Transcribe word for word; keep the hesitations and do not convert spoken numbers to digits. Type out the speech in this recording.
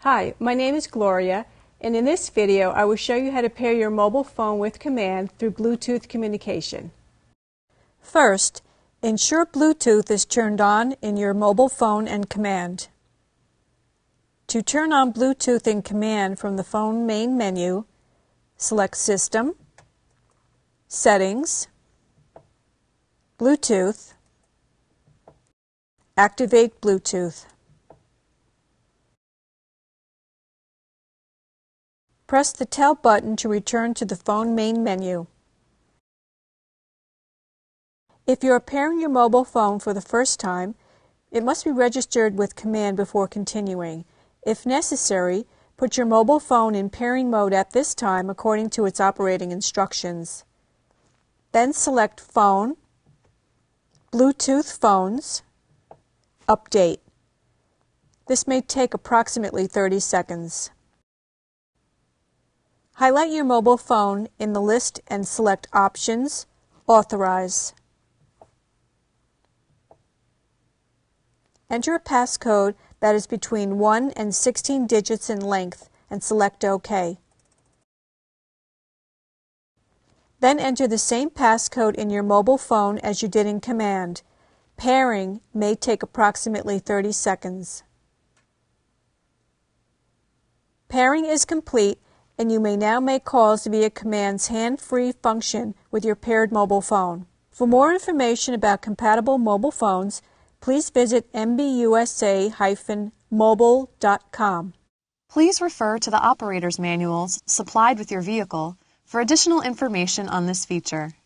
Hi, my name is Gloria, and in this video I will show you how to pair your mobile phone with Command through Bluetooth communication. First, ensure Bluetooth is turned on in your mobile phone and Command. To turn on Bluetooth in Command from the phone main menu, select System, Settings, Bluetooth, Activate Bluetooth. Press the Tell button to return to the phone main menu. If you are pairing your mobile phone for the first time, it must be registered with Command before continuing. If necessary, put your mobile phone in pairing mode at this time according to its operating instructions. Then select Phone, Bluetooth Phones, Update. This may take approximately thirty seconds. Highlight your mobile phone in the list and select Options, Authorize. Enter a passcode that is between one and sixteen digits in length and select OK. Then enter the same passcode in your mobile phone as you did in Command. Pairing may take approximately thirty seconds. Pairing is complete, and you may now make calls via Command's hand-free function with your paired mobile phone. For more information about compatible mobile phones, please visit m b u s a dash mobile dot com. Please refer to the operator's manuals supplied with your vehicle for additional information on this feature.